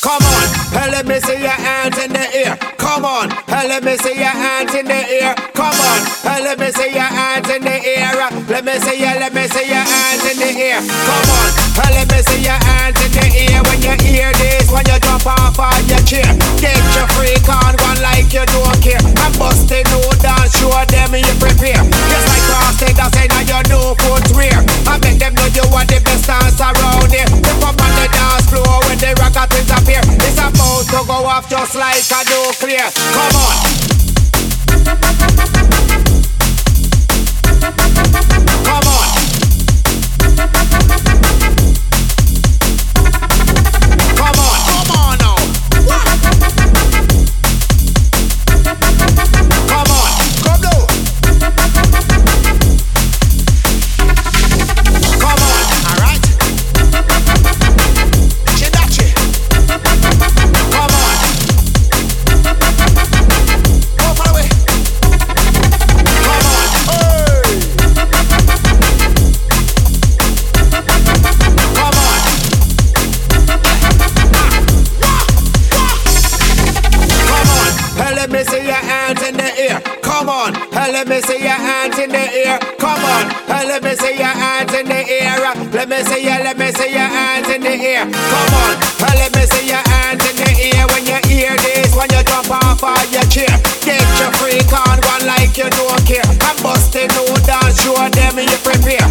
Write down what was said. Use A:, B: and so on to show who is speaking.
A: Come on, hey, let me see your hands in the air. Come on, hey, let me see your hands in the air. Come on, hey, let me see your hands in the air. Let me see your hands in the air. Come on, hey, let me see your hands in the air. When you hear this, when you jump off on your chair, get your freak on, one like you don't care. I'm busting no dance, show them you prepare. Just like Frosty, that's say now you know footwear. I make them know you are the best dance around here. Step up on the dance floor when the rockets appear. It's about to go off just like a nuclear. Come on. Come on. Come on. Come on now. Come on. Come down. Come on. All right. Chidachi. Come on. Go far away. Come on. Hey. Come on. Come on. Hey, let me see your hands in the air. Come on. Hey, let me see your hands in the air. Come on. Hey, let me see your hands in the air. Let me see your hands in the air. Come on. Hey, let me see your hands in the air. When you hear this, when you jump off on your chair, get your freak on, one like you don't care. I'm busting no dance, show them you prepare.